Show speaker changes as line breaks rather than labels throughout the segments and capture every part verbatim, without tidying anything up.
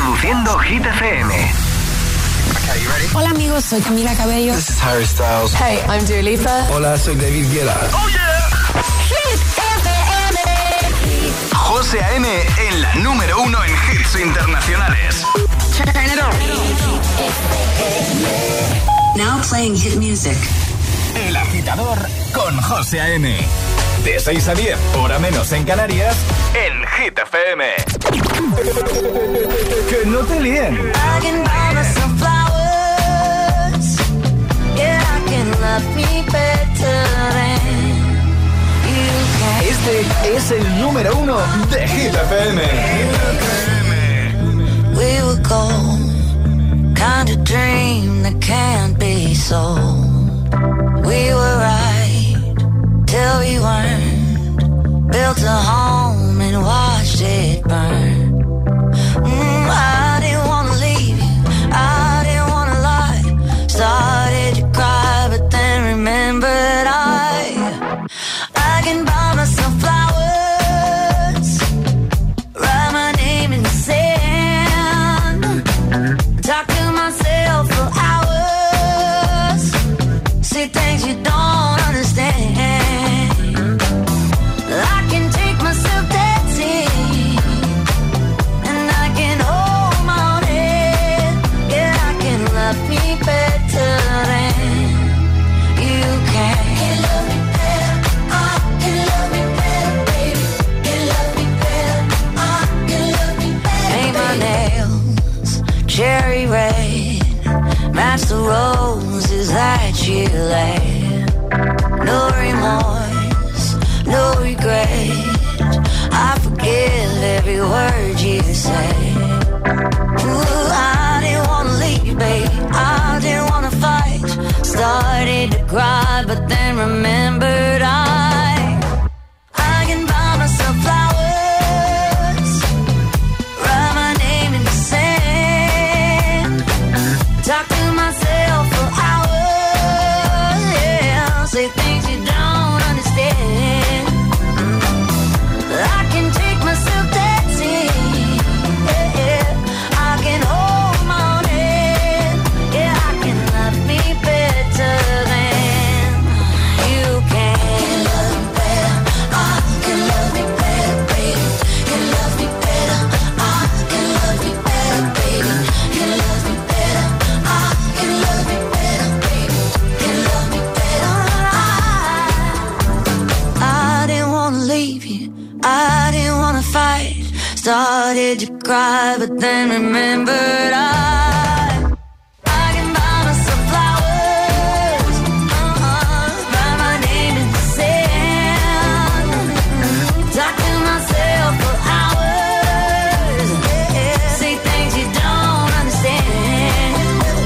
Reproduciendo Hit F M.
Okay, you ready?
Hola amigos, soy Camila Cabello.
This is Harry Styles.
Hey, I'm Dua Lipa.
Hola, soy David Guetta.
Oh yeah.
Hit F M.
José A M en la número uno en hits internacionales.
Turn it on.
Now playing hit music.
El Agitador con José A M. De seis a diez, hora menos en Canarias, en Hit F M. Que no te líen.
I can buy myself flowers. Yeah, I can love me better than you can.
Este es el número uno de Hit F M.
We were gold, kind of dream that can't be sold. We were right till we weren't. Built a home and watched it burn. Mm, I didn't wanna leave you, I didn't wanna lie. Started to cry, but then remembered I I can buy myself flowers, write my name in the sand, talk to myself for hours, see things you don't understand. I can take myself dancing, and I can hold my own head. Yeah, I can love me better than you can. Can love me better, I can love me better, baby. Can love me better, I can love me better. Paint my nails cherry red, match the roses that you laid. No remorse, no regret. I forgive every word you say. Ooh, I didn't wanna leave, babe. I didn't wanna fight. Started to cry, but then remembered I I can buy myself flowers, write my name in the sand, talk to myself for hours, yeah, say things you don't understand. I can take myself dancing, yeah, yeah. I can hold my own head, yeah, I can love me better than you can. Can love me better, I can love me better, baby. Can love me better, I can love me better, baby. Can love me better, I can love me better, baby. Can love me better, I I didn't wanna leave you, I didn't wanna fight. Started to cry, but then remembered I I can buy myself flowers, uh-huh, write my name in the sand, talk to myself for hours, yeah, say things you don't understand.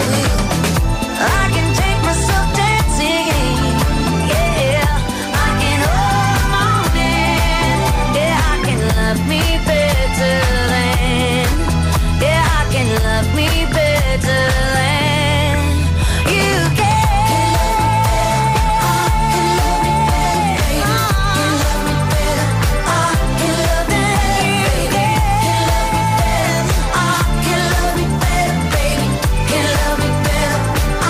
I can take myself dancing, yeah, I can hold my own hand, yeah, I can love me better than, yeah, I can love me better than you can. Can love me better, can love me better, I can love me better, I can love me better, baby, can love me better,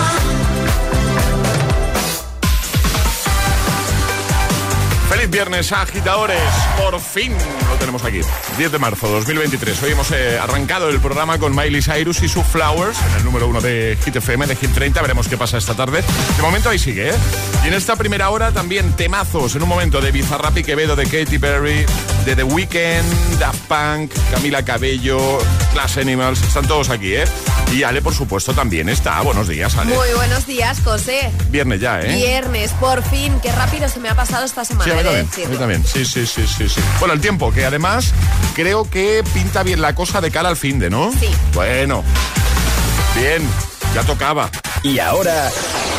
Feliz viernes, agitadores. Por fin lo tenemos aquí. diez de marzo de dos mil veintitrés. Hoy hemos eh, arrancado el programa con Miley Cyrus y su Flowers, en el número uno de Hit F M, de Hit treinta. Veremos qué pasa esta tarde. De momento ahí sigue, ¿eh? Y en esta primera hora también temazos. En un momento de Bizarrap y Quevedo, de Katy Perry, de The Weeknd, Daft Punk, Camila Cabello, Glass Animals. Están todos aquí, ¿eh? Y Ale, por supuesto, también está. Buenos días, Ale.
Muy buenos días, José.
Viernes ya, ¿eh?
Viernes, por fin. Qué rápido se me ha pasado esta semana.
Sí, a mí
he de
también,
decirlo.
a mí también. Sí, sí, sí, sí, sí. Bueno, el tiempo, que además creo que pinta bien la cosa de cara al finde, ¿no?
Sí.
Bueno, bien, ya tocaba.
Y ahora,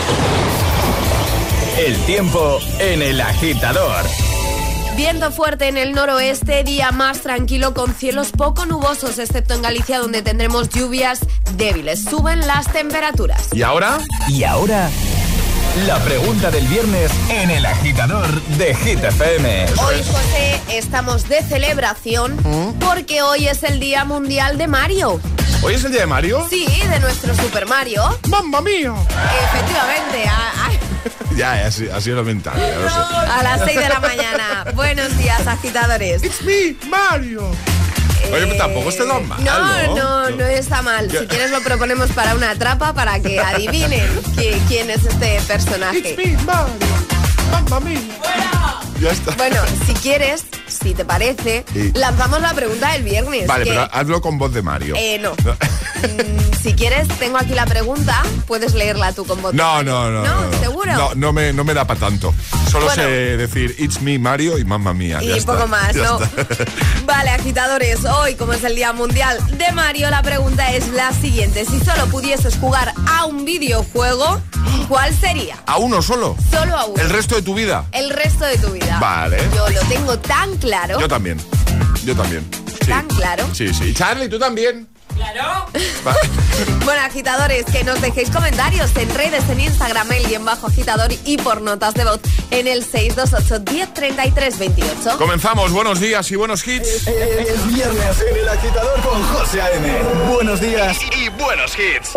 el tiempo en El Agitador.
Viento fuerte en el noroeste, día más tranquilo con cielos poco nubosos, excepto en Galicia, donde tendremos lluvias débiles. Suben las temperaturas.
¿Y ahora?
Y ahora, La pregunta del viernes en El Agitador de Hit F M.
Hoy, José, estamos de celebración
¿Mm?
porque hoy es el Día Mundial de Mario.
¿Hoy es el día de Mario?
Sí, de nuestro Super Mario.
¡Mamma mía!
Efectivamente, a, a,
Ya, ya, así, así es lo mental, ya lo sé.
a las seis de la mañana. Buenos días, agitadores.
It's me, Mario. Oye, pues tampoco está tan mal,
No,
¿no?
no, no está mal. Si quieres lo proponemos para una trapa para que adivinen qui- quién es este personaje.
It's me, Mario. Mamma mía. Ya está.
Bueno, si quieres, si te parece,
Sí.
lanzamos la pregunta del viernes.
Vale,
que-
pero hazlo con voz de Mario.
Eh, no. Mm, si quieres, tengo aquí la pregunta, puedes leerla tú con voz.
No, no, no.
¿No?
no, no.
¿Seguro?
No, no me, no me da para tanto. Solo
Bueno.
sé decir It's me, Mario y mamma mía.
Y
ya está,
poco más,
ya
¿no?
está.
Vale, agitadores, hoy, como es el Día Mundial de Mario, la pregunta es la siguiente. Si solo pudieses jugar a un videojuego, ¿cuál sería?
¿A uno solo?
Solo a uno.
¿El resto de tu vida?
El resto de tu vida.
Vale.
Yo lo tengo tan claro.
Yo también. Yo también. Sí.
¿Tan claro?
Sí, sí. Charlie, ¿tú también?
Claro.
Va.
Bueno, agitadores, que nos dejéis comentarios en redes, en Instagram, el guión bajo agitador y por notas de voz en el seis dos ocho, diez, treinta y tres, veintiocho.
Comenzamos. Buenos días y buenos hits.
Es viernes en El Agitador con José A M. Buenos días
Y, y buenos hits.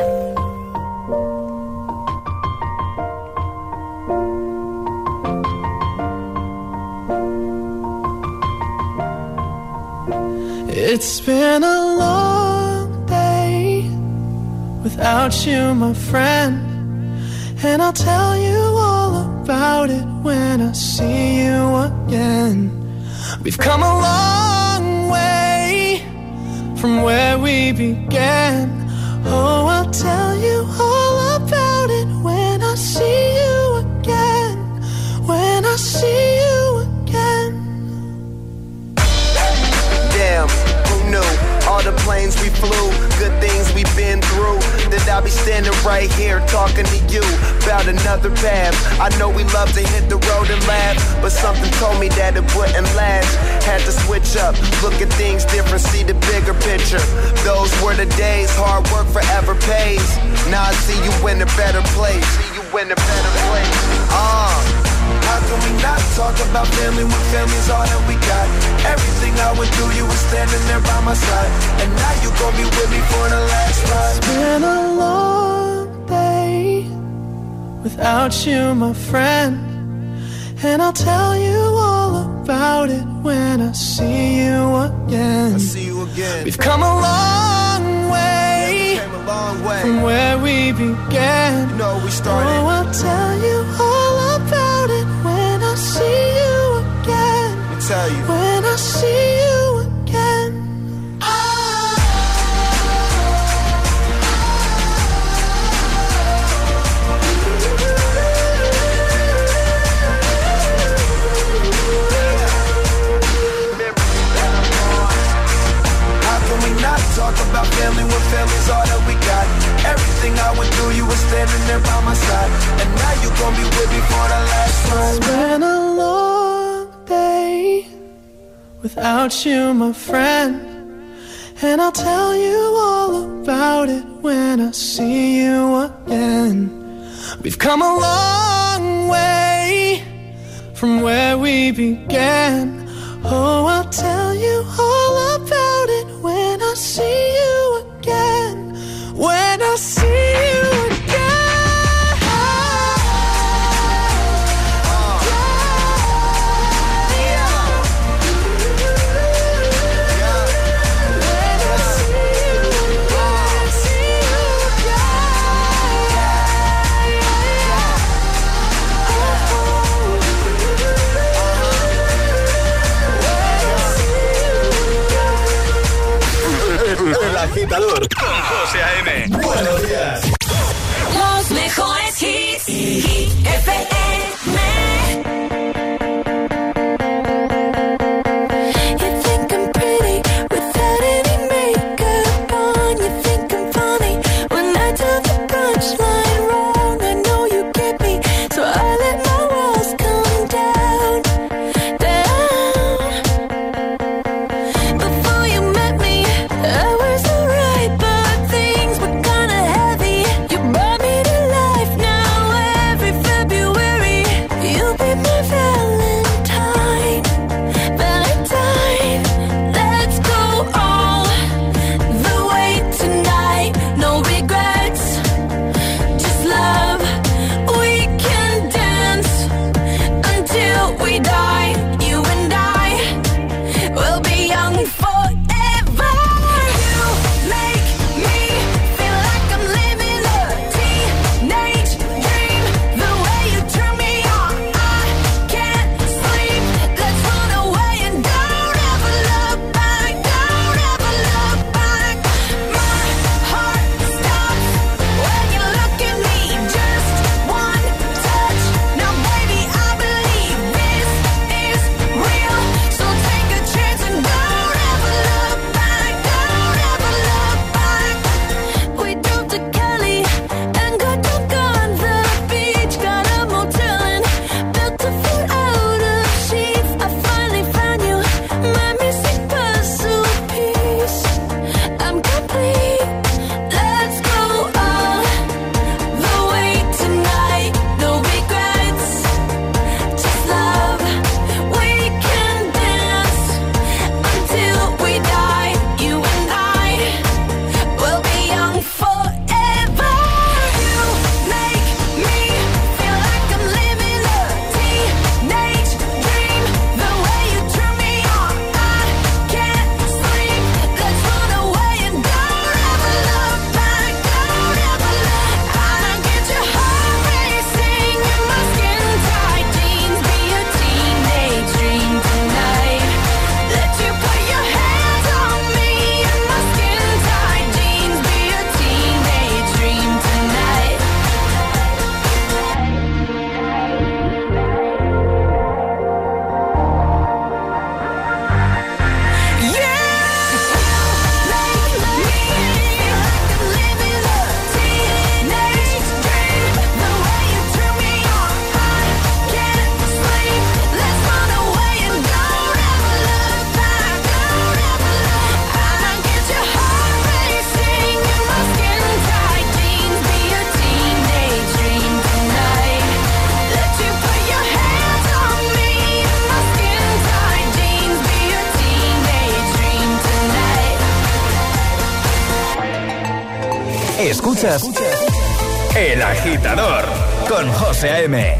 It's been a long day without you, my friend. And I'll tell you all about it when I see you again. We've come a long way from where we began. Oh, I'll tell you all about it when I see you again. When I see you again.
Damn, who knew? All the planes we flew, good things we've been through. That I'll be standing right here talking to you about another path. I know we love to hit the road and laugh, but something told me that it wouldn't last. Had to switch up, look at things different, see the bigger picture. Those were the days, hard work forever pays. Now I see you in a better place. See you in a better place. Ah. Uh. How can we not talk about family when family's all that we got? Everything I went through, you were standing there by my side. And now you gon' be with me for the last ride.
It's been a long day without you, my friend. And I'll tell you all about it when I see you again.
I see you again.
We've come a long way,
Came a long way.
from where we began.
You know we started.
Oh, I'll tell you all about it when I see you again.
Let me tell you.
When I see you again.
How can we not talk about family when family's all that we got? Everything I went through, you were standing there by my side. And now you gon' be with me for the last ride.
It's been a long day without you, my friend. And I'll tell you all about it when I see you again. We've come a long way from where we began. Oh, I'll tell you all about it when I see you again. When I see you again.
El Agitador con José A M. Buenos días.
Los mejores hits. Hit F M.
You think I'm pretty without any makeup on. You think I'm funny when I tell the punchline wrong. I know you get me, so I let my walls come down, down. Before you met me, I was alright, but things were kinda heavy. You brought me to life now. Every February
Escuchas El Agitador con José A M.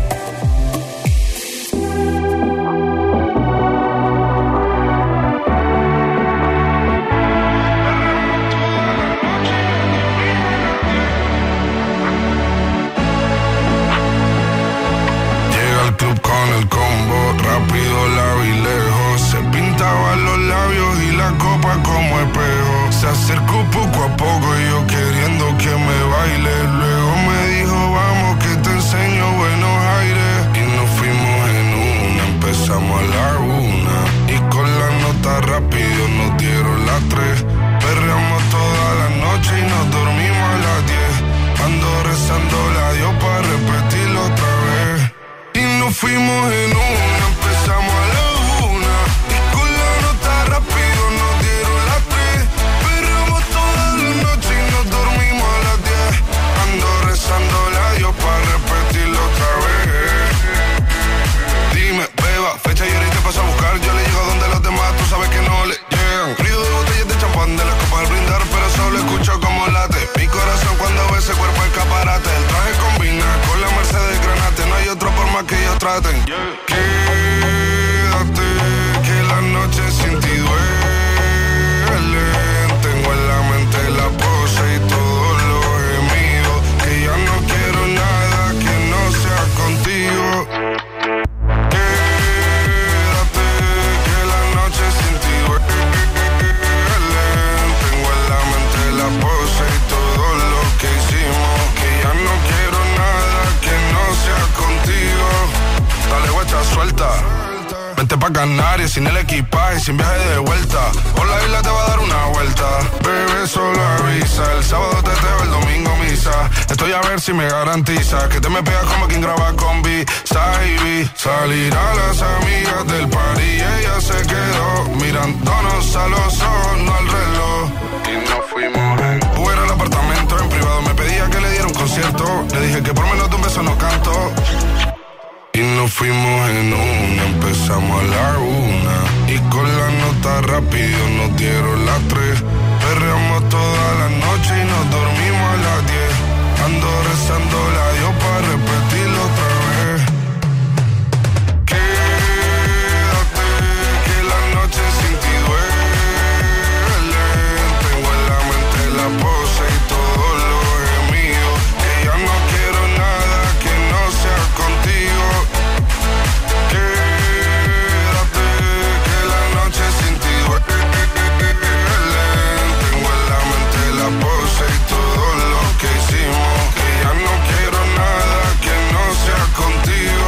Llega al club con el combo, rápido la vi lejos. Se pintaban los labios y la copa como espejo. Se acercó poco a poco y yo queriendo que me baile. Luego me dijo, vamos que te enseño buenos aires. Y nos fuimos en una, empezamos a la una. Y con la nota rápido nos dieron las tres. Perreamos toda la noche y nos dormimos a las diez. Ando rezando la Dios para repetirlo otra vez. Y nos fuimos en una, empezamos a la una. Y con la nota rápido nos dieron las tres. Perreamos toda la noche y nos dormimos a las diez. Ando rezando la Dios para repetirlo otra vez. Dime, beba, fecha y hora y te paso a buscar. Yo le llego donde los demás, tú sabes que no le llegan. Río de botellas de champán, de las copas al brindar, pero solo escucho como late mi corazón cuando ve ese cuerpo escaparate. El traje combina con la Mercedes Granate. No hay otro por más que ellos traten. Quédate, que la noche sin ti duele. Tengo en la mente la pose y todos los gemidos. Que ya no quiero nada que no sea contigo. Quédate, que la noche sin ti duele. Tengo en la mente la pose y todo lo que hicimos. Que ya no quiero nada que no sea contigo. Dale guacha, suelta. Vente pa' Canarias sin el equipaje, sin viaje de vuelta. Por la isla te va a dar una vuelta. Bebé, solo avisa. El sábado te teo, el domingo misa. Estoy a ver si me garantiza que te me pegas como quien graba con B. Saibi. Salir a las amigas del party y ella se quedó mirándonos a los ojos, no al reloj. Y nos fuimos en fuera al apartamento en privado. Me pedía que le diera un concierto. Le dije que por menos de un beso no canto. Y nos fuimos en una, empezamos a la una. Y con la nota rápido nos dieron las tres. Perreamos toda la noche y nos dormimos a las diez. Ando rezando la Dios para repetirlo otra vez. Quédate, que la noche sin ti duele. Tengo en la mente la pose y todo lo gemido. Que ya no quiero nada que no sea contigo. Quédate, que la noche sin ti duele. Tengo en la mente la pose y todo lo que hicimos. Que ya no quiero nada que no sea contigo.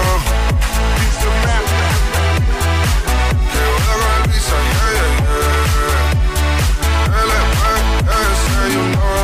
Que joda con el visa, yeah, yeah, yeah. L P S, you know.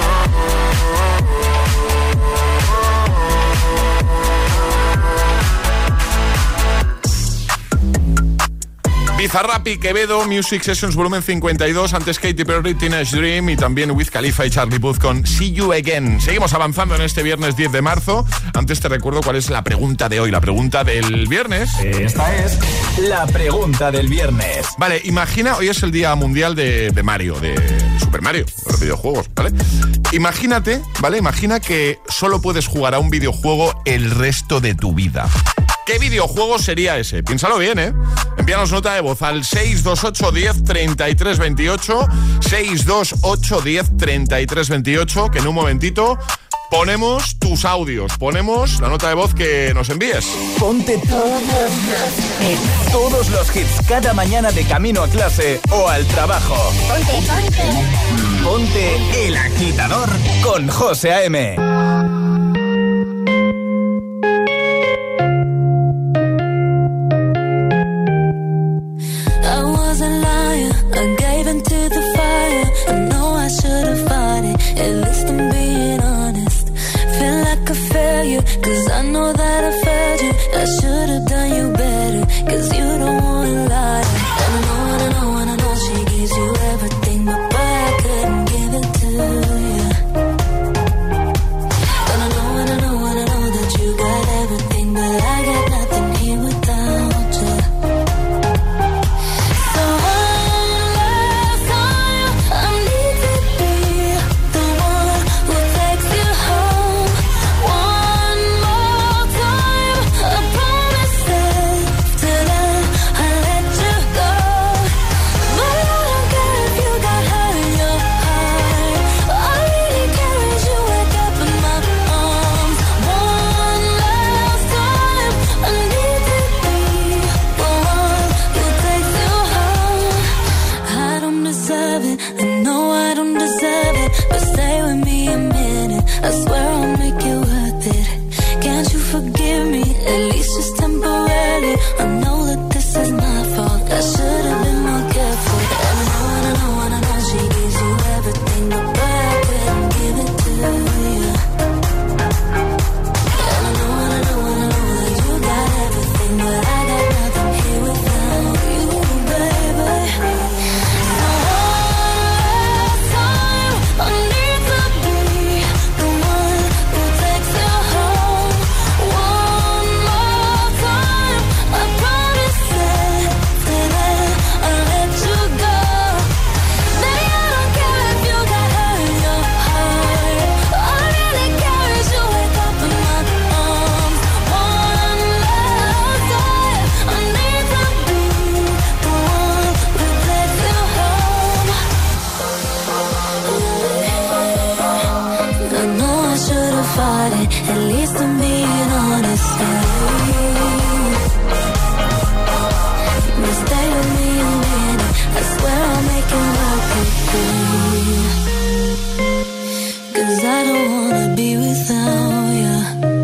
Bizarrap y Quevedo, Music Sessions volumen cincuenta y dos, antes Katy Perry, Teenage Dream y también Wiz Khalifa y Charlie Puth con See You Again. Seguimos avanzando en este viernes diez de marzo. Antes te recuerdo cuál es la pregunta de hoy, la pregunta del viernes.
Esta es la pregunta del viernes.
Vale, imagina, hoy es el día mundial de, de Mario, de Super Mario, de los videojuegos, ¿vale? Imagínate, ¿vale? Imagina que solo puedes jugar a un videojuego el resto de tu vida. ¿Qué videojuego sería ese? Piénsalo bien, ¿eh? Envíanos nota de voz al seis dos ocho, diez, treinta y tres veintiocho, seis dos ocho, diez, treinta y tres veintiocho, que en un momentito ponemos tus audios, ponemos la nota de voz que nos envíes.
Ponte todos, todos los hits cada mañana de camino a clase o al trabajo.
Ponte, ponte.
Ponte El Agitador con José A M.
At least I'm being honest. Feel like a failure, cause I know that I failed you. I should have done you better, cause you don't wanna lie. And I know, and I know, and I know she gives you everything, but boy, I couldn't give it to you. And I know, and I know, and I know that you got everything, but I got nothing here without you. So all love on you, I need to be the one who just temporary. I know that this is my fault. I should have been more careful. And I know, and I know, and I know she gives you everything, but boy, I couldn't give it to you. And I know, and I know, and I know that you got everything, but I got nothing here without you, baby. So one time, I need to be the one who takes you home. One more time, I promise that today I'll let you go. Baby, I don't care if you got hurt in your heart. All I really care is you wake up in my arms. One last time, I need to be the one who takes you home. I know I should have fought it. At least I'm being honest with you. But stay with me a minute. I swear I'll make it work with you. 'Cause I don't wanna be without you.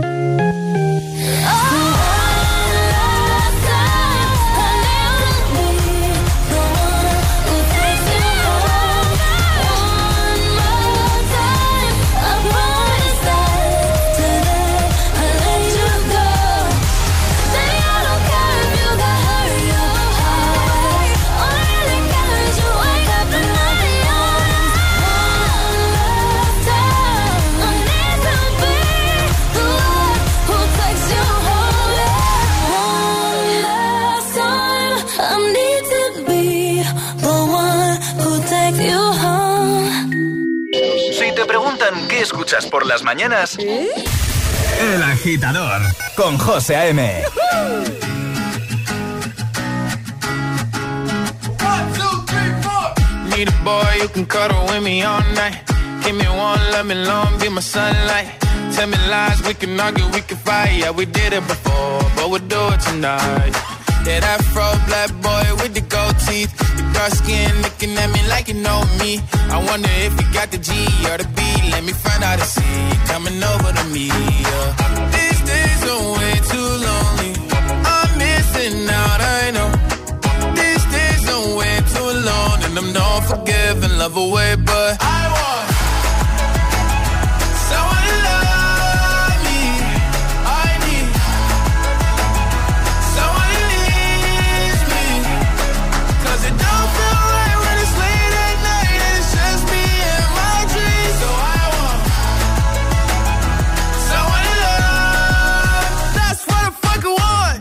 Si te preguntan qué escuchas por las mañanas,
¿Eh?
El Agitador con José A M.
Need a boy you can cuddle with me all night. Give me one, let me long, be my sunlight. Tell me lies, we can argue, we can fight. Yeah, we did it before, but we'll do it tonight. Yeah, that fro black boy with the gold teeth. The dark skin looking at me like you know me. I wonder if you got the G or the B. Let me find out and see you coming over to me. Yeah. These days are way too lonely. I'm missing out, I know. These days are way too long, and I'm not forgiving, love away, but I want someone to love me. I need someone who needs me. 'Cause it don't feel right when it's late at night and it's just me and my dreams. So I want someone to love. That's what I fucking want.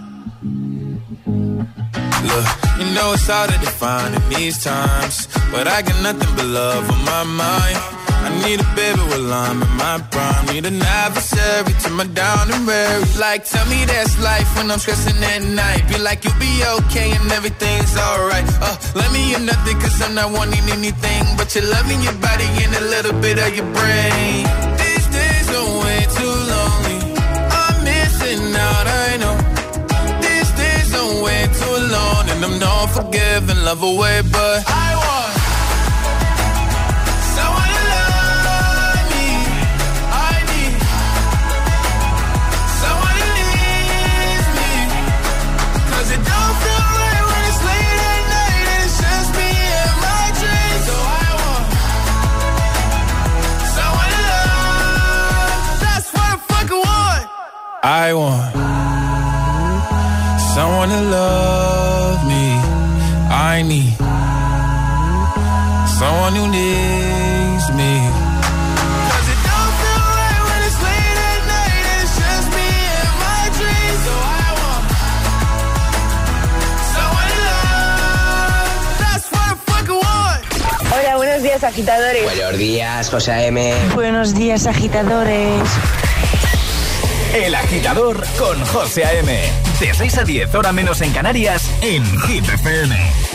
Look, you know it's hard to define in these times, but I got nothing but love on my mind. I need a baby while I'm in my prime. Need an adversary to my down and weary. Like, tell me that's life when I'm stressing at night. Be like, you'll be okay and everything's alright. Uh, let me in nothing 'cause I'm not wanting anything but your love in your body and a little bit of your brain. These days are way too lonely. I'm missing out, I know. These days are way too long, and I'm not forgiving, love away, but I want someone to love me. I need someone who needs me. 'Cause it don't feel right when it's late at night and it's just me and my dreams. So I want someone to love. That's what I fucking want. I want someone to love me. I need someone who needs me. 'Cause it don't feel right when it's late at night and it's just me and my dreams. So I want someone to love. That's what I fucking want.
Hola, buenos días, agitadores.
Buenos días, José A M.
Buenos días, agitadores.
El Agitador con José A M. De seis a diez, hora menos en Canarias, en Hit F M.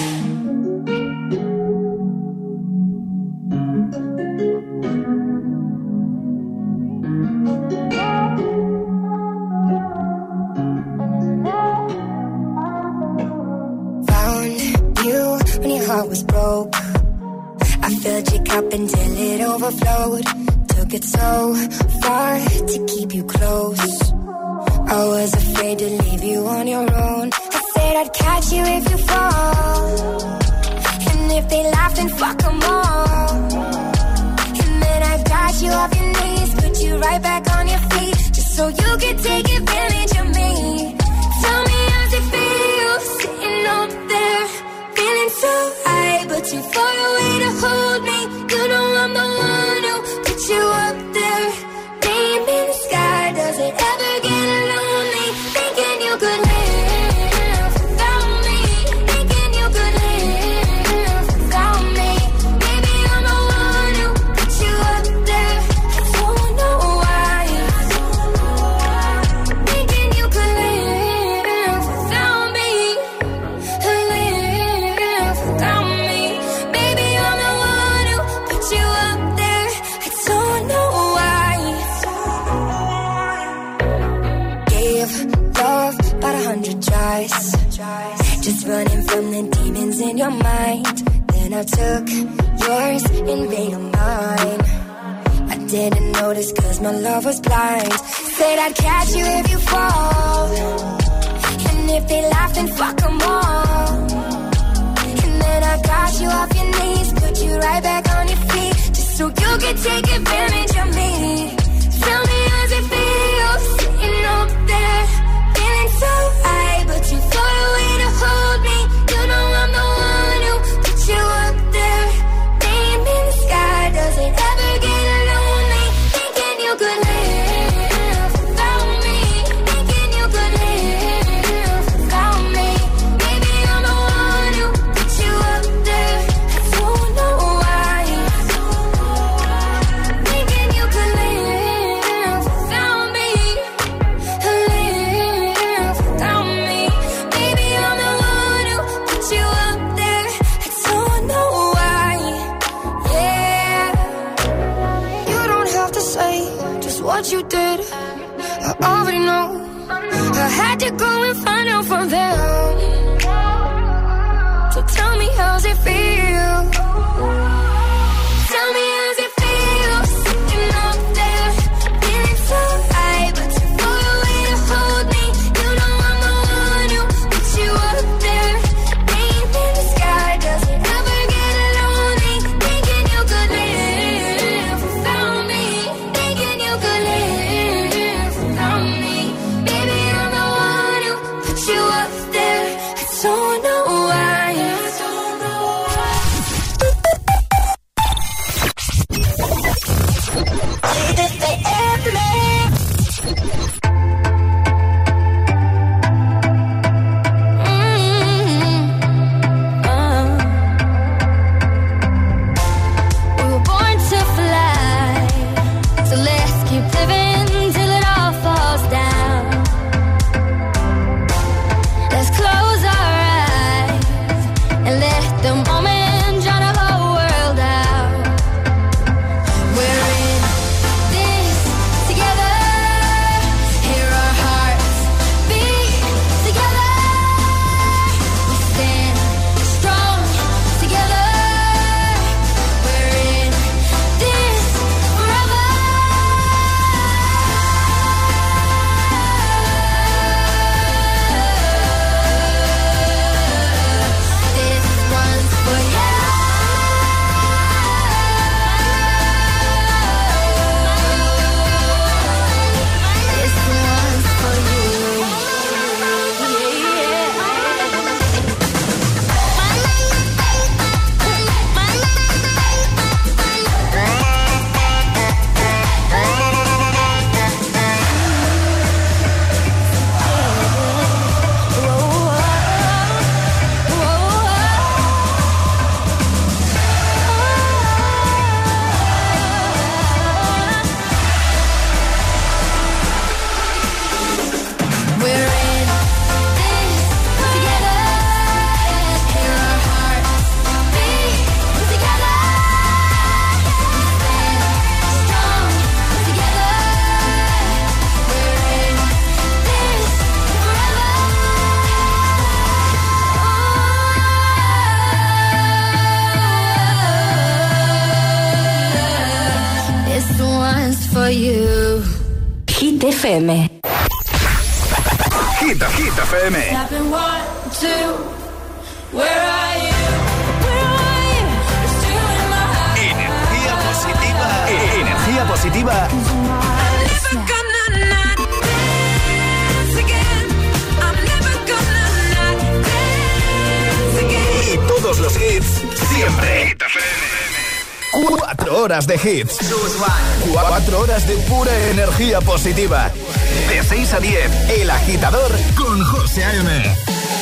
Found you when your heart was broke. I filled your cup until it overflowed. Took it so far to keep you close. I was afraid to leave you on your own. I said I'd catch you if you fall. And if they laugh, then fuck them all. And then I got you off your knees, put you right back on your feet, just so you could take advantage of me. Tell me how's it feel, sitting up there, feeling so high, but too far away to hold me. You know I'm the one who put you up there, name in the sky. Does it ever get lonely, thinking you could live without me, thinking you could live without me? Baby, I'm the one who put you up there. I don't know why, thinking you could live without me, live without me. Baby, I'm the one who put you up there. I don't know why. Gave love about a hundred tries, just running from the demons in your mind. Then I took yours and made them mine. I didn't notice cause my love was blind. Said I'd catch you if you fall. And if they laugh, then fuck them all. And then I got you off your knees, put you right back on your feet, just so you could take advantage of me. Tell me how's it feel, sitting up there, feeling so high, but too far away to hold me. You know I'm the one who put you up there, name in the sky. Does it ever get lonely, thinking you could live without me, thinking you could live without me? Baby, I'm the one who put you up there. I don't know why, thinking you could live without me, live without me. Baby, I'm the one who put you up there. I don't know why, yeah. You don't have to say just what you did, I already know. I had to go and find out from them. So tell me how's it feel, tell me how's it feel, sitting up there, feeling so high, but too far away to hold me. You know I'm the one who put you up there, name in the sky. Does it ever get lonely, thinking you could live without me, thinking you could live without me? Baby, I'm the one who put you up there. I don't know why. We were born to fly, so let's keep living till it all falls down. Let's close our eyes and let the moment drown the whole world out. We're in this together, hear our hearts beat together. We stand strong together. We're in this forever. This one's for you. This one's for you. We're in this together, hear our hearts beat together. We stand strong together. We're in this forever. This one's for you.
Hit F M.
Hit, Hit F M. Energía positiva. Energía positiva. Y todos los hits siempre. Hit F M. Cuatro horas de hits. Cuatro horas de pura energía positiva. De seis a diez, El Agitador con José A M.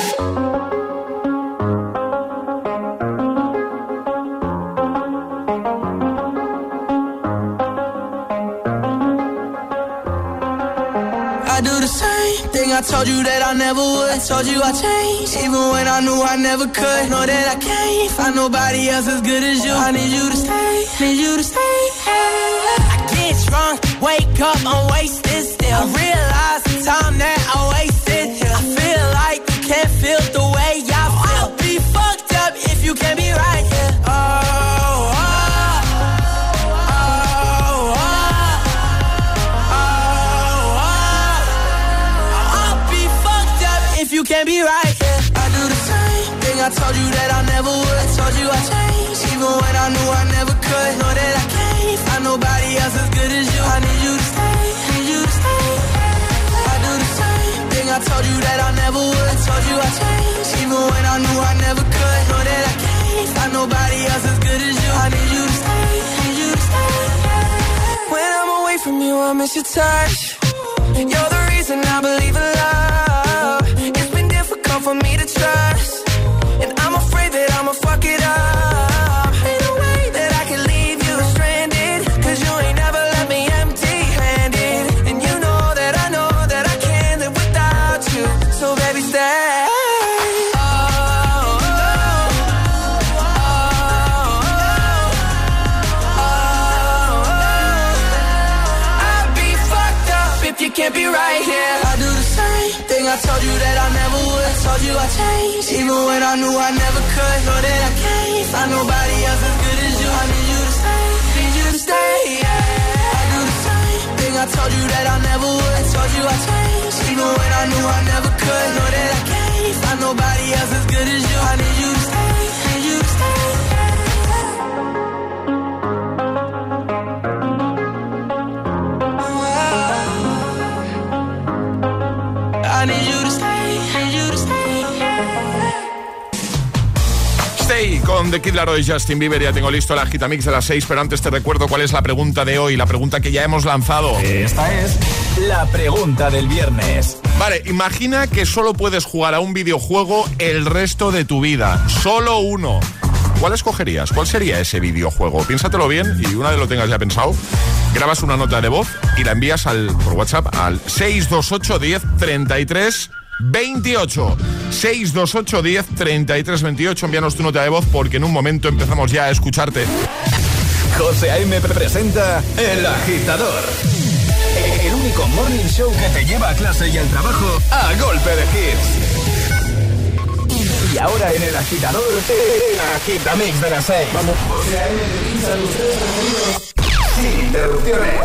I do the same thing I told you that I never would. I told you I changed, even when I knew I never could. Know that I can't find nobody else as good as you. I need you to stay, need you to stay. I get drunk, wake up, I'm wasted still. I realize the time that I wasted here. I feel like you can't feel the way I feel. I'll be fucked up if you can't be right here. Oh, oh, oh, oh, oh, oh. I'll be fucked up if you can't be right here. I do the same thing I told you that I never would. I told you I changed, even when I knew I never could. Know that I can't find nobody else as good as you. I need you to stay, need you to stay. I do the same thing I told you that I never would. I told you I changed, even when I knew I never could. Know that I can't find nobody else as good as you. I need you to stay, need you to stay. When I'm away from you, I miss your touch. You're the reason I believe in love. It's been difficult for me to trust, and I'm afraid that I'ma fuck it up. Ain't no way that I can leave you stranded, cause you ain't never left me empty-handed. And you know that I know that I can't live without you. So baby, stay. Oh, oh, oh, oh, oh. I'd be fucked up if you can't be right here. I do the same thing I told you that I never would. I told you I changed, even when I knew I never could. Know that I can't find nobody else as good as you. I need you to stay, need you to stay, yeah. I do the same thing I told you that I never would. I told you I changed, even when I knew I never could. Know that I can't find nobody else as good as you. I need you to stay, need you to stay, I need you to stay, need you to stay.
Stay con The Kid Laroi y Justin Bieber. Ya tengo listo la Agitamix de las seis, pero antes te recuerdo cuál es la pregunta de hoy, la pregunta que ya hemos lanzado.
Esta es la pregunta del viernes.
Vale, imagina que solo puedes jugar a un videojuego el resto de tu vida. Solo uno. ¿Cuál escogerías? ¿Cuál sería ese videojuego? Piénsatelo bien y una vez lo tengas ya pensado, grabas una nota de voz y la envías al, por WhatsApp al seis dos ocho, diez, treinta y tres, veintiocho. seis dos ocho, diez, treinta y tres, veintiocho. Envíanos tu nota de voz porque en un momento empezamos ya a escucharte.
José A M presenta El Agitador, el único morning show que te lleva a clase y al trabajo a golpe de hits. Y ahora en El Agitador, el Agitamix de las seis. Vamos. José A M te pincha los tres sonidos sin interrupciones.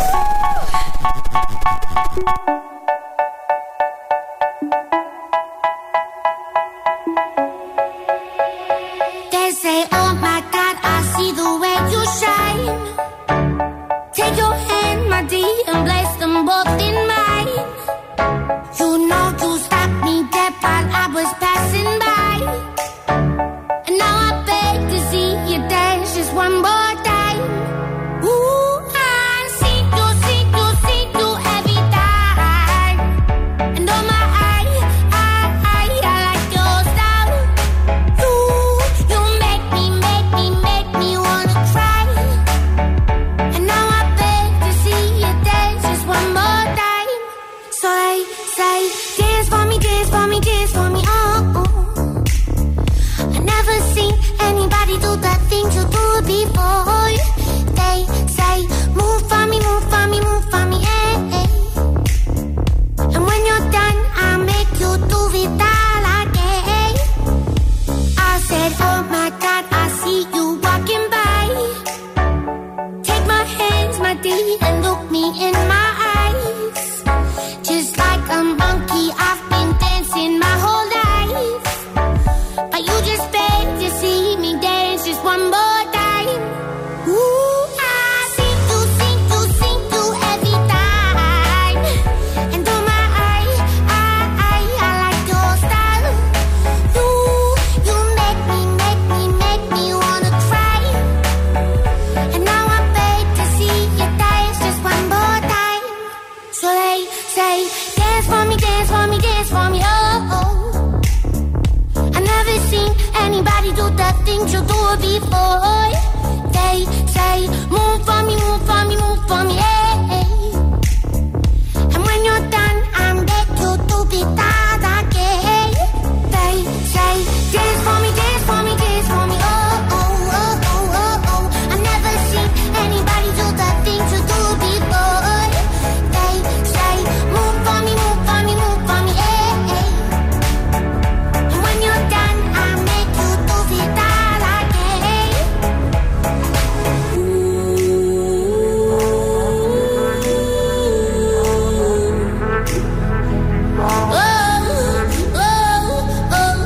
They say, oh my God, I see the way you shine. Take your hand, my dear, and place them both in mine. You know you stopped me dead while I was passing by. And now I beg to see you dance just one more time. Ooh, I see you, see you, see you every time. And oh my, I, I, I, I like your style. You, you make me, make me, make me wanna cry. And now I beg to see you dance just one more time. So they say, dance for me, dance for me, dance for me, oh, oh. I never seen anybody do the things you do before. They say, move for me, move for me, move for me, eh, eh. And when you're done, I'll make you do it all again. I said, oh my God, I see you walking by. Take my hands, my dear, and look me in my eyes. Just like a monkey, I've been there. things you do before. They say, move for me, move for me, move for me, hey. And when you're done, I beg you to be that again. They say, dance for me, dance for me, dance for me, oh, oh, oh, oh, oh, oh. I've never seen anybody do the things you do before. They say, move for me, move for me, move for me, hey, hey. And when you're done, I make you do it that again. Oh, oh, oh.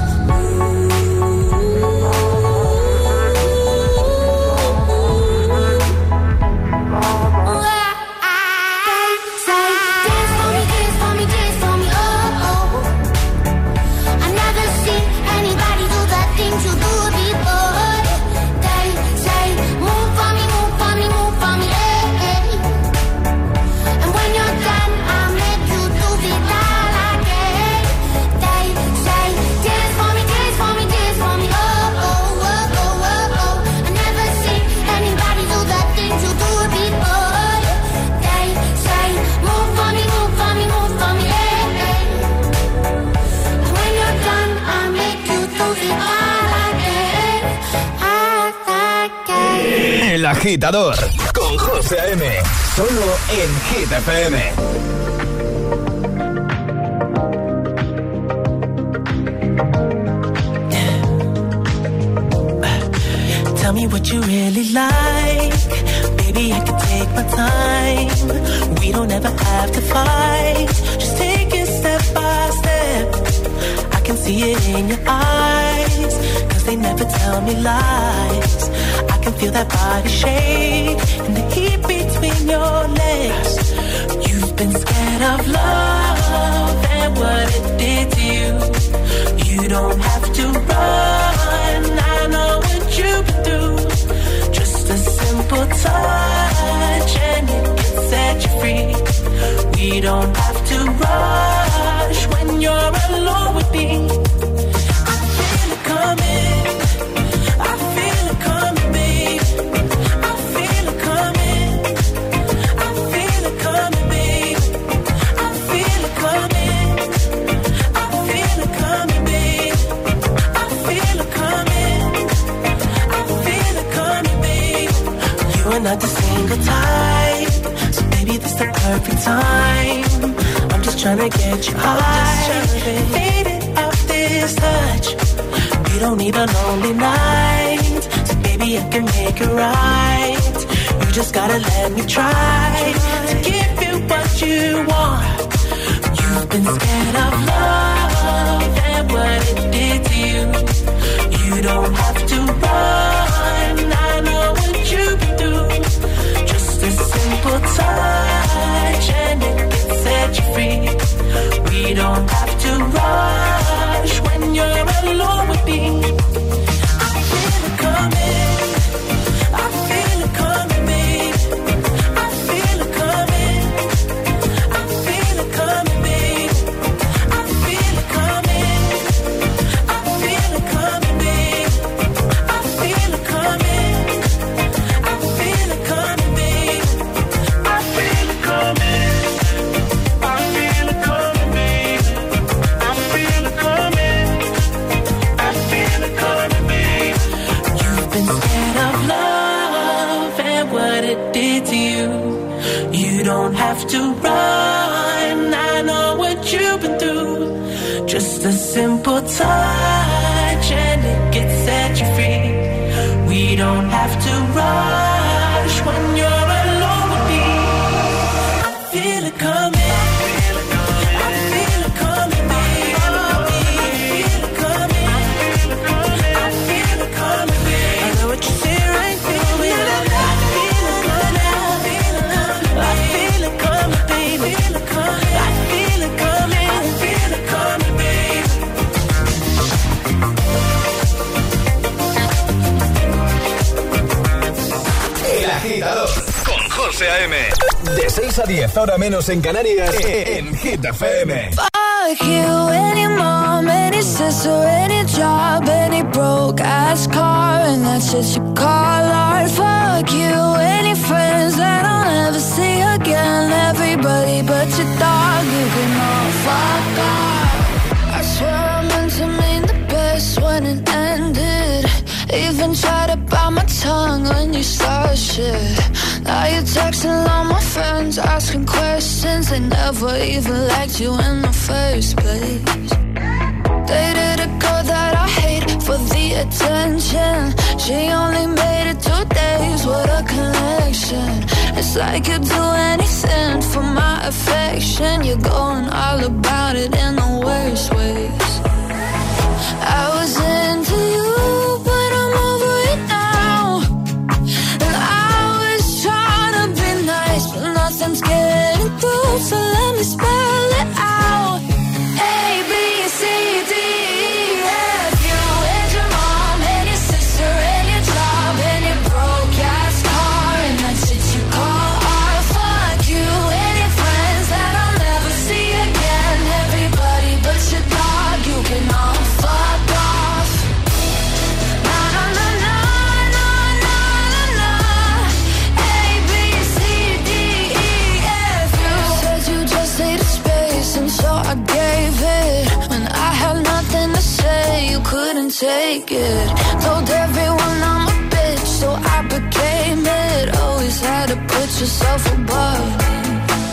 Say, dance for me, dance for me, dance for me, oh, oh. I've never seen anybody do the things you do before. They say, move for me, move for me, move for me, hey, hey. And when you're done, I'll make you do it all again. They say, dance for me, dance for me, dance for me, oh, oh, oh, oh, oh, oh. I've never seen anybody do the things you do before. They say, move for me, move for me, move for me, hey, hey. And when you're done, I'll make you do it all again, again.
El Agitador con José A.M. Solo en Hit F M.
Tell me what you really like. Baby, I can take my time. We don't ever have to fight. Just take it step by step. I can see it in your eyes, 'cause they never tell me lies. I can feel that body shake and the heat between your legs. You've been scared of love and what it did to you. You don't have to run, I know what you've been through. Just a simple touch and it can set you free. We don't have to rush when you're alone with me. I feel it coming, I feel it coming, babe. I feel it coming, I feel it coming, babe. I feel it coming, I feel it coming, babe. I feel it coming, I feel it coming, babe. You are not the single type, so baby this the perfect time. I'm just tryna get you high, faded off this touch. You don't need a lonely night, so baby I can make it right. You just gotta let me try to give you what you want. You've been scared of love and what it did to you. You don't have to run, I know what you've been through. Just a simple touch and it can set you free. We don't have to rush when you're alone with me. I feel it coming, I feel it coming, babe. I feel it coming, I feel it coming, babe. I feel it coming, I feel it coming, babe. I feel it coming, I feel it coming, babe. I feel it coming, I feel it coming, babe. I feel it coming, I feel it coming, babe. You've been scared of love and what it did to you. You don't have to run, I know what you've been through. Just a simple touch and it can set you free. We don't have to rush when you're alone with me. I feel it coming, I feel it coming, babe. I feel it coming, I feel it coming, babe. I know what you say right there, but I feel it coming, I feel it coming, baby. I feel it coming, I feel it coming, babe.
El Agitador con José A M. De seis a diez, ahora menos en Canarias, en Hit F M.
Fuck
Fuck you, any mom, any sister, any job, any broke ass car, and that's what you call art. Fuck you, any friends that I'll never see again. Everybody but your dog, you can all fuck off. I swear I meant to mean the best when it ended. Even tried to bite my tongue when you start shit. Now you're texting all my friends, asking questions. They never even liked you in the first place. Dated a girl that I hate for the attention. She only made it two days, what a connection. It's like you'd do anything for my affection. You're going all about it in the worst ways. I was into you, but I'm over it now. And I was trying to be nice, but nothing's getting through, so let me spell it out. A, B, C, D, E, F, you and your mom and your sister and your job and your broke ass car, and that's shit you call art. Fuck you and your friends that I'll never see again. Everybody but your dog, you can all fuck off. Na na na na na na na na. A, B, C, D, E, F, you said you just needed space, and so I gave it. When I had nothing to say, you couldn't take it. Told everyone I'm a bitch, so I became it. Always had to put yourself above me.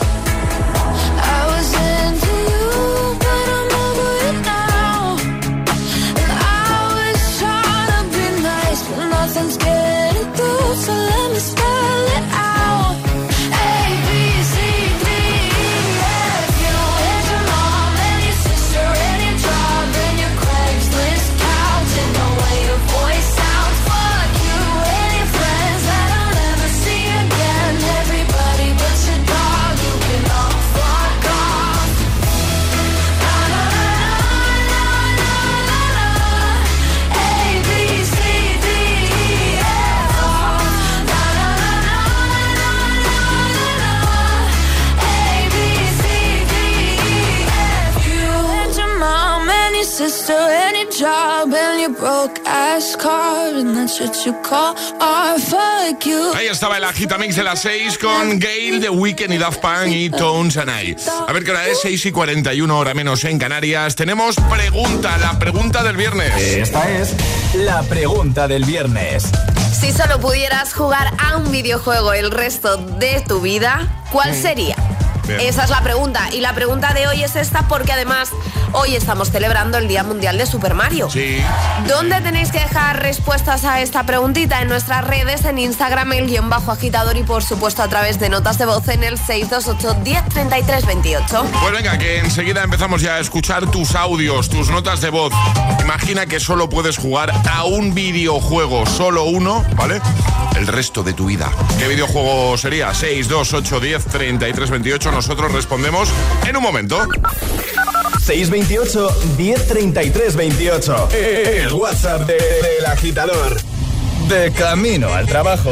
I was into you, but I'm over it now. And I was trying to be nice, but nothing's getting through, so let me spell it out. A, B, C, D, E, F, you and your mom and your sister and your job and your Craigslist couch and the way your voice sounds. Fuck you and your friends that I'll never see again. Everybody but your dog, you can all fuck off. Na na na na na na na. A, B, C, D, E, F, oh. Na na na na na na na na. A, B, C, D, E, F, you and your mom and your sister and your job and your broke ass car, and that's what you call art. Fuck you.
Ahí estaba el Agitamix de las seis con Gale, The Weeknd y Daft Punk y Tones and I. A ver qué hora es, seis y cuarenta y uno, hora menos en Canarias. Tenemos pregunta, la pregunta del viernes.
Esta es la pregunta del viernes.
Si solo pudieras jugar a un videojuego el resto de tu vida, ¿cuál sería?
Bien.
Esa es la pregunta. Y la pregunta de hoy es esta porque además hoy estamos celebrando el Día Mundial de Super Mario.
Sí.
¿Dónde tenéis que dejar respuestas a esta preguntita? En nuestras redes, en Instagram, el guión bajo agitador y por supuesto a través de notas de voz en el seis dos ocho, diez, treinta y tres, veintiocho.
Pues venga, que enseguida empezamos ya a escuchar tus audios, tus notas de voz. Imagina que solo puedes jugar a un videojuego, solo uno, ¿vale? El resto de tu vida. ¿Qué videojuego sería? seis dos ocho, diez, treinta y tres, veintiocho. Nosotros respondemos en un momento.
seis veintiocho, diez, treinta y tres, veintiocho. El WhatsApp de, del agitador. De camino al trabajo.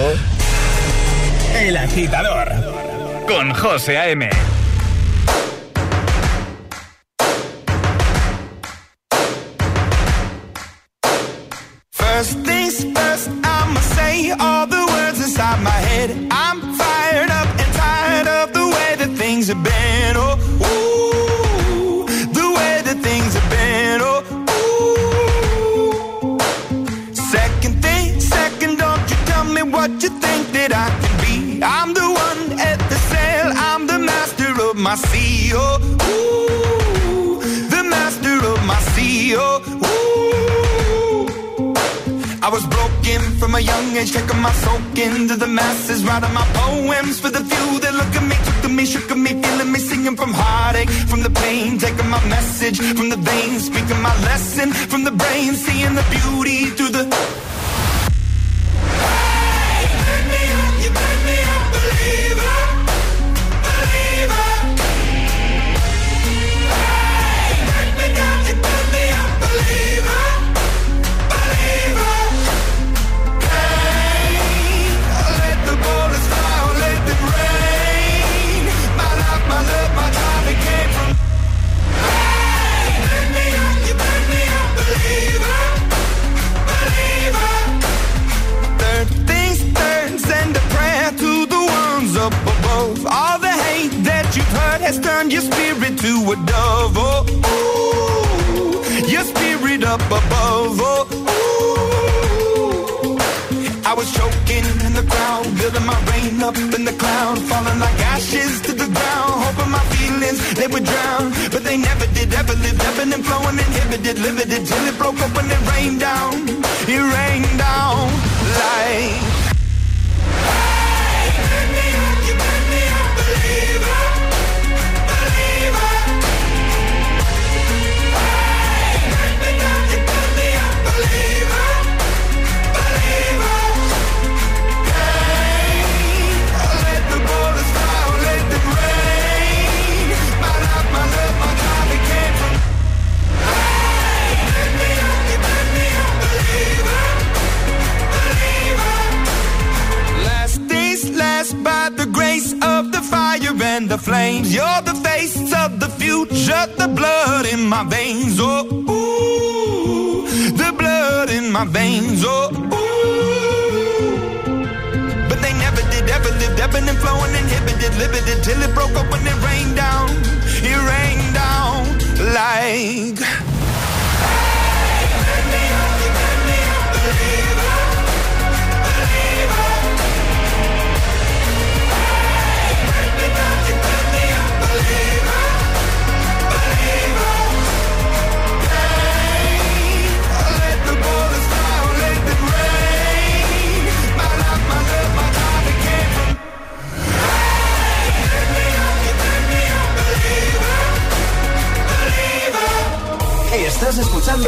El Agitador. Con José A M.
First things first, I'ma say all the words inside my head. I'm fired up and tired of the way that things have been. Oh, ooh, the way that things have been. Oh, ooh. Second thing, second, don't you tell me what you think that I can be. I'm the one at the sail, I'm the master of my sea. Oh, ooh, the master of my sea. Oh, ooh. I was broken from a young age, taking my soak into the masses, writing my poems for the few that look at me, took to me, shook at me, feeling me, singing from heartache, from the pain, taking my message from the veins, speaking my lesson from the brain, seeing the beauty through the... Hey, you make me up, you make me a believer, believer. Hey, you make me down, you make me a believer. Hey! above. All the hate that you've heard has turned your spirit to a dove. Oh, ooh, your spirit up above. Oh, ooh. I was choking in the crowd, building my rain up in the cloud, falling like ashes to the ground, hoping my feelings, they would drown. But they never did, ever lived, ebbing and flowing, inhibited, limited, till it broke up when it rained down. It rained down like... Hey, turn me up, you turn me up, believer, believer. Hey, turn me up, you turn me up, believer, believer. Hey, let the bullets fly, let them rain. My life, my love, my God, it came from... Hey, turn me up, you turn me up, believer, believer. Last days last by the grace of the fire and the flames. You're the face of the future, the blood in my veins. Oh, ooh, the blood in my veins. Oh, ooh. But they never did, ever lived, ebbing and flowing, inhibited, limited, till it broke up when it rained down. It rained down like... Hey, turn me up, you turn me up, believer, believer. Hey, turn me up, you turn me up, believer, believer. Hey, let the bullets fly, let them rain. My life, my love, my God, it came from... Hey, turn me up, you turn me up, believer, believer.
Estás escuchando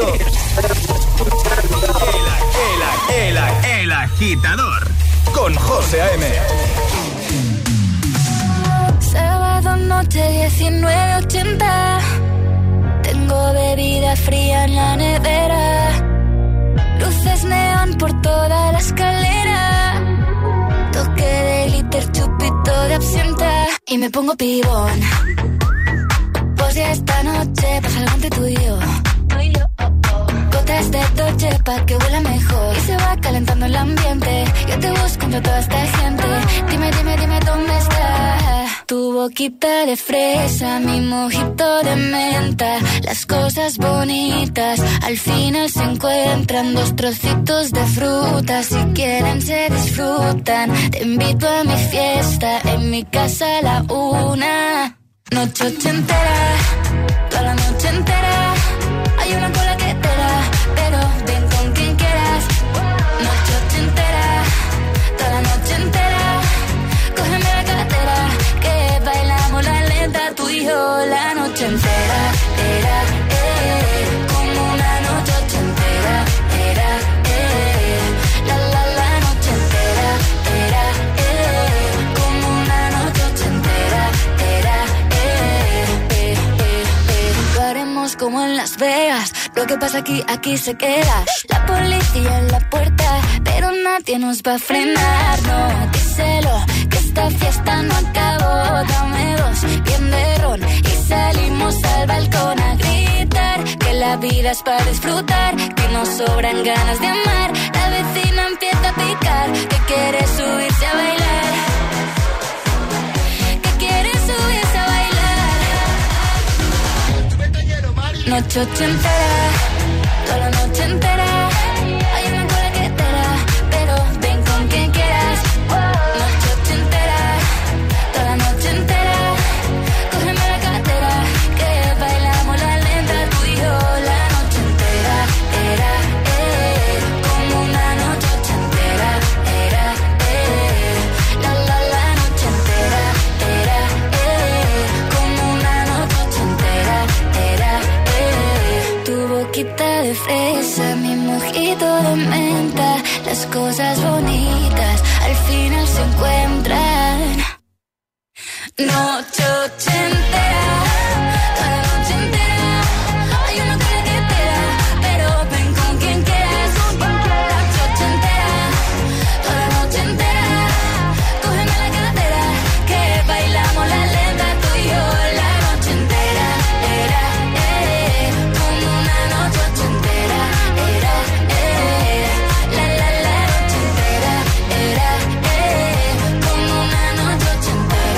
el, el, el, el Agitador con José A M.
Sábado noche diecinueve ochenta. Tengo bebida fría en la nevera. Luces neón por toda la escalera. Toque de glitter, chupito de absenta. Y me pongo pibón. Pues ya esta noche pasa algo entre tú y yo. Gotas de Dolce pa' que huela mejor. Y se va calentando el ambiente. Yo te busco entre toda esta gente. Dime, dime, dime dónde está. Tu boquita de fresa, mi mojito de menta. Las cosas bonitas al final se encuentran. Dos trocitos de fruta, si quieren se disfrutan. Te invito a mi fiesta, en mi casa a la una. Noche ochentera, toda la noche entera. Hay una cola que te da, pero ven con quien quieras. Noche ochentera, toda la noche entera. Cógeme la cartera, que bailamos la lenta. Tú y yo la noche entera. Era, eh, como una noche ochentera. Era, eh, la la la noche entera. Era, eh, como una noche ochentera. Era, como en Las Vegas, lo que pasa aquí, aquí se queda. La policía en la puerta, pero nadie nos va a frenar. No, díselo, que esta fiesta no acabó. Dame dos, bien de ron, y salimos al balcón a gritar. Que la vida es para disfrutar, que nos sobran ganas de amar. La vecina empieza a picar, que quiere subirse a bailar. Que quiere subirse a bailar. Noche ochentera, toda la noche entera. Hay una cola que te da, pero ven con quien quieras. Noche ochentera, toda la noche entera. Cógeme la cartera, que bailamos la lenta. Tú y yo la noche entera. Era, eh, como una noche ochentera. Era, eh, la la la noche entera. Era, eh, como una noche ochentera. Era, tu boquita de fresa, mi mojito de menta. Las cosas bonitas al final se encuentran. Noche ochentera, toda la noche entera. Hay una cola que te da, pero ven con quien quieras. Noche ochentera, toda la noche entera. Cógeme la cartera, que bailamos la lenta. Tú y yo la noche entera. Era, eh, como una noche ochentera. Era, eh, la la la noche entera. Era, eh, como una noche ochentera.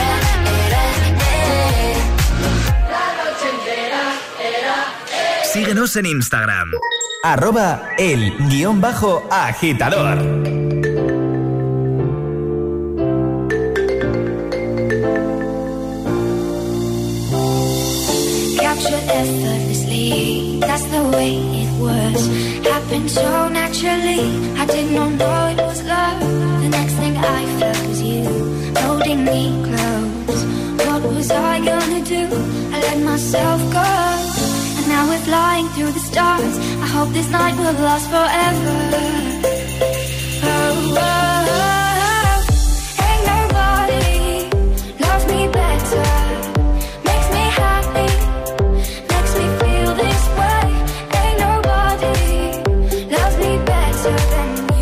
Síguenos en Instagram. Arroba el guión bajo agitador.
Captured effortlessly, that's the way it was. Happened so naturally, I did not know it was love. The next thing I felt was you, holding me close. What was I gonna do? I let myself go. And now we're flying through the stars. I hope this night will last forever. Oh, oh, oh. Ain't nobody loves me better. Makes me happy, makes me feel this way. Ain't nobody loves me better than you.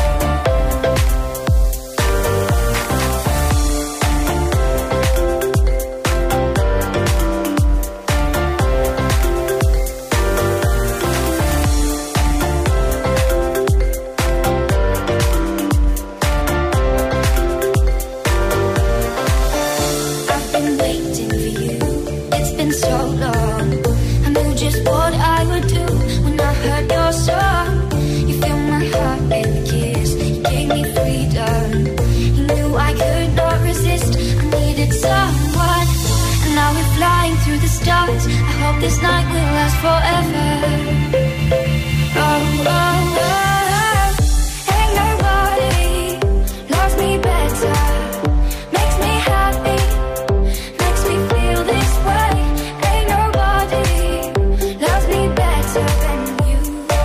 I've been waiting for you. It's been so long. I knew just what I would do when I heard your song. You filled my heart with a kiss. You gave me freedom. You knew I could not resist. I needed someone. And now we're flying through the stars. I hope this night will last forever. Oh, oh, oh. Ain't nobody loves me better. Makes me happy, makes me feel this way. Ain't nobody loves me better than you.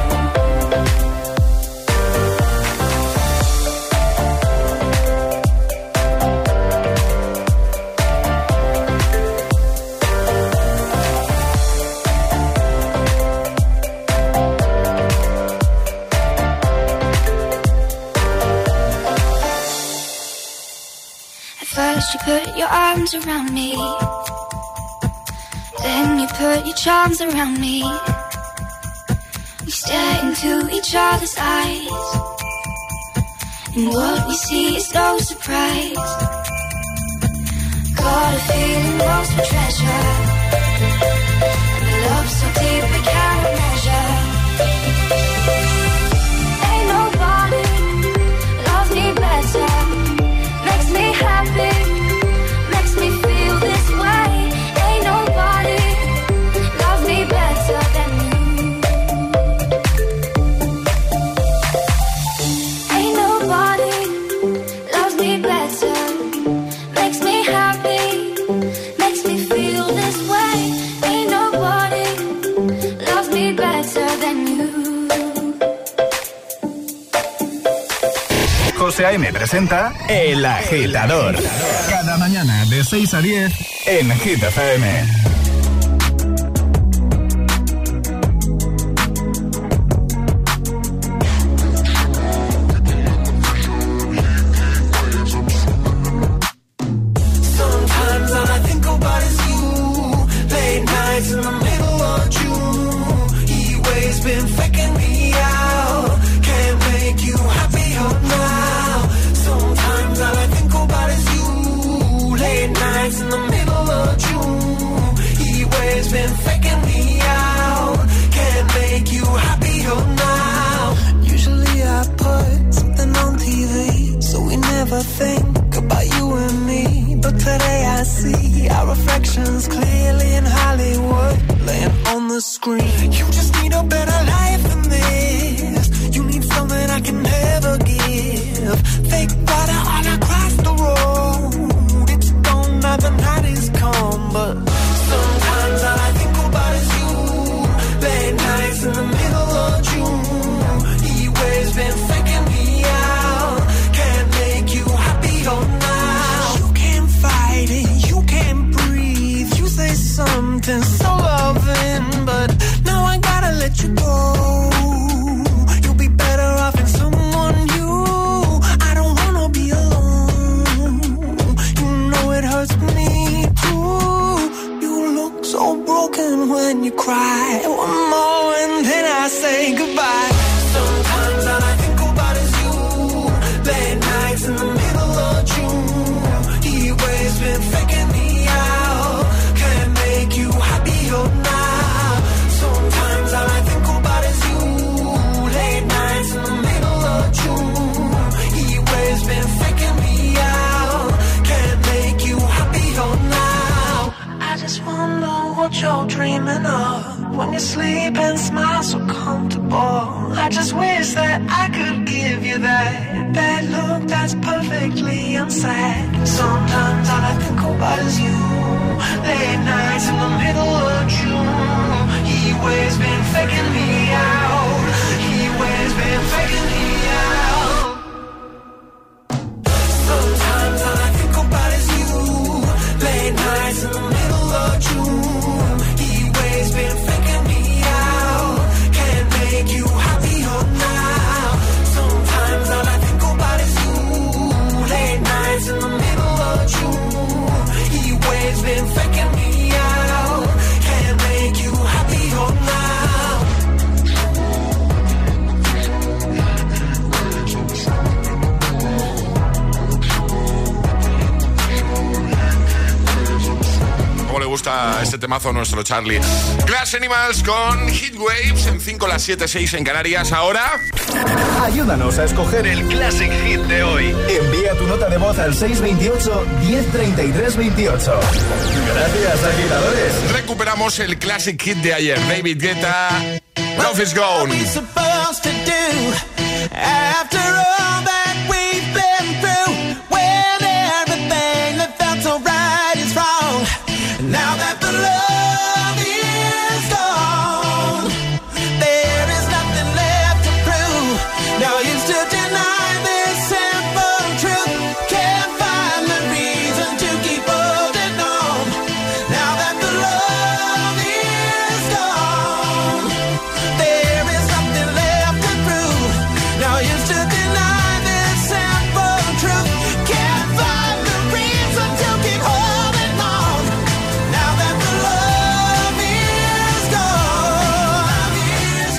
At first you put your arms around me, then you put your charms around me. We stare into each other's eyes, and what we see is no surprise. Got a feeling lost for treasure, and a love so deep we can't measure. Ain't nobody loves me better. Makes me happy, makes me feel this way. Ain't nobody loves me better than you. Ain't nobody loves me better. Makes me happy, makes me feel this way. Ain't nobody loves me better than you.
José A M presenta El Agitador. Cada mañana de seis a diez en Hit F M.
Sometimes all I think about is you. Late nights in the middle of June. He always been faking me out. Can't make you happier now. Sometimes all I think about is you. Late nights in the middle of June. He always been faking me out. Can't make you happier now. Usually I put something on T V, so we never think about you and me. But today I see our reflections clearly in Hollywood, laying on the screen. You just need a better life than this. You need something I can never give. Fake water all across the road. It's gone now, the night is come. But sometimes all I think about is you. Late nights in the middle of June. He always been faking me out. Can't make you happier now. You can't fight it, you can't breathe. You say something so loving, but now I gotta let you go. You'll be better off in someone new. I don't wanna be alone. You know it hurts me too. You look so broken when you cry. One more and then I say goodbye. Sometimes all I think about is you. Late nights in the middle of June. He always been faking me out. Can't make you happy
you're dreaming of. When you sleep and smile so comfortable. I just wish that I could give you that that look that's perfectly unsaid. Sometimes all I think about is you. Late nights in the middle of June. He always been faking me out. He always been faking me out. Sometimes all I think about is you. Late nights in the middle of June. He always been faking me out. Can't make you happier now. Sometimes all I think about is you. Late nights in the middle of June. He always been faking me out. Can't make you happier now.
¿Cómo le gusta este temazo a nuestro Charlie? Glass Animals con Heat Waves en cinco, las siete, seis en Canarias. Ahora
ayúdanos a escoger el Classic Hit de hoy. Envía tu nota de voz al seis veintiocho, diez treinta y tres veintiocho. Gracias, agitadores.
Recuperamos el Classic Hit de ayer. David Guetta, Love Is Gone.
Now that the love is gone, there is nothing left to prove. No use to deny this simple truth. Can't find the reason to keep holding on. Now that the love is gone, there is nothing left to prove. No use to deny this simple truth. Can't find the reason to keep holding on. Now that the love is gone, is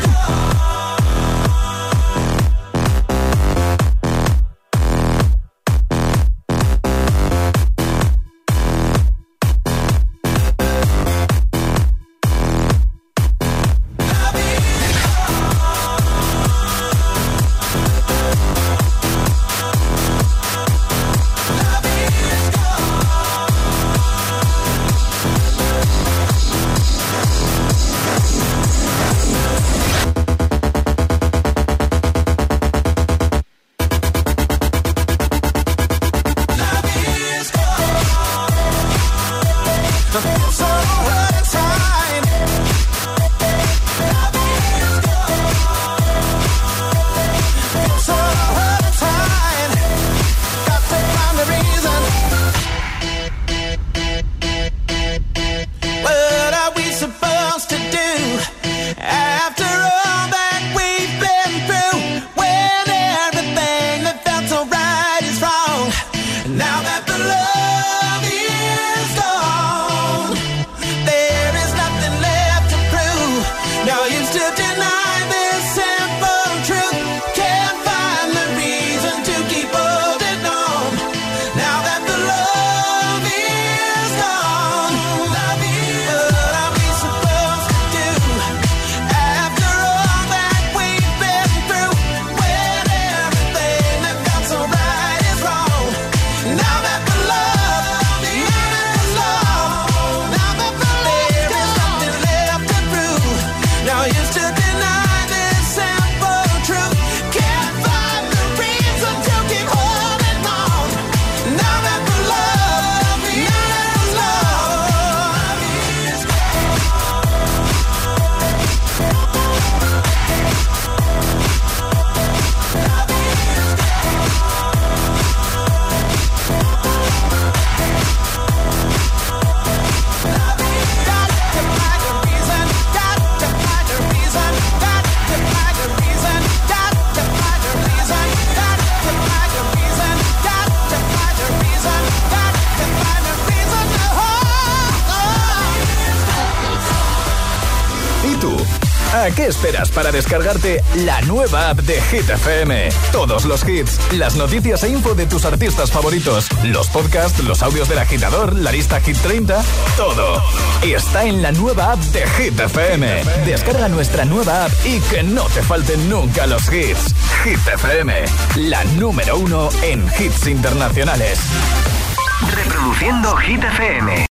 ¿A qué esperas para descargarte la nueva app de Hit F M? Todos los hits, las noticias e info de tus artistas favoritos, los podcasts, los audios del agitador, la lista Hit treinta, todo. Está en la nueva app de Hit F M. Descarga nuestra nueva app y que no te falten nunca los hits. Hit F M, la número uno en hits internacionales.
Reproduciendo Hit F M.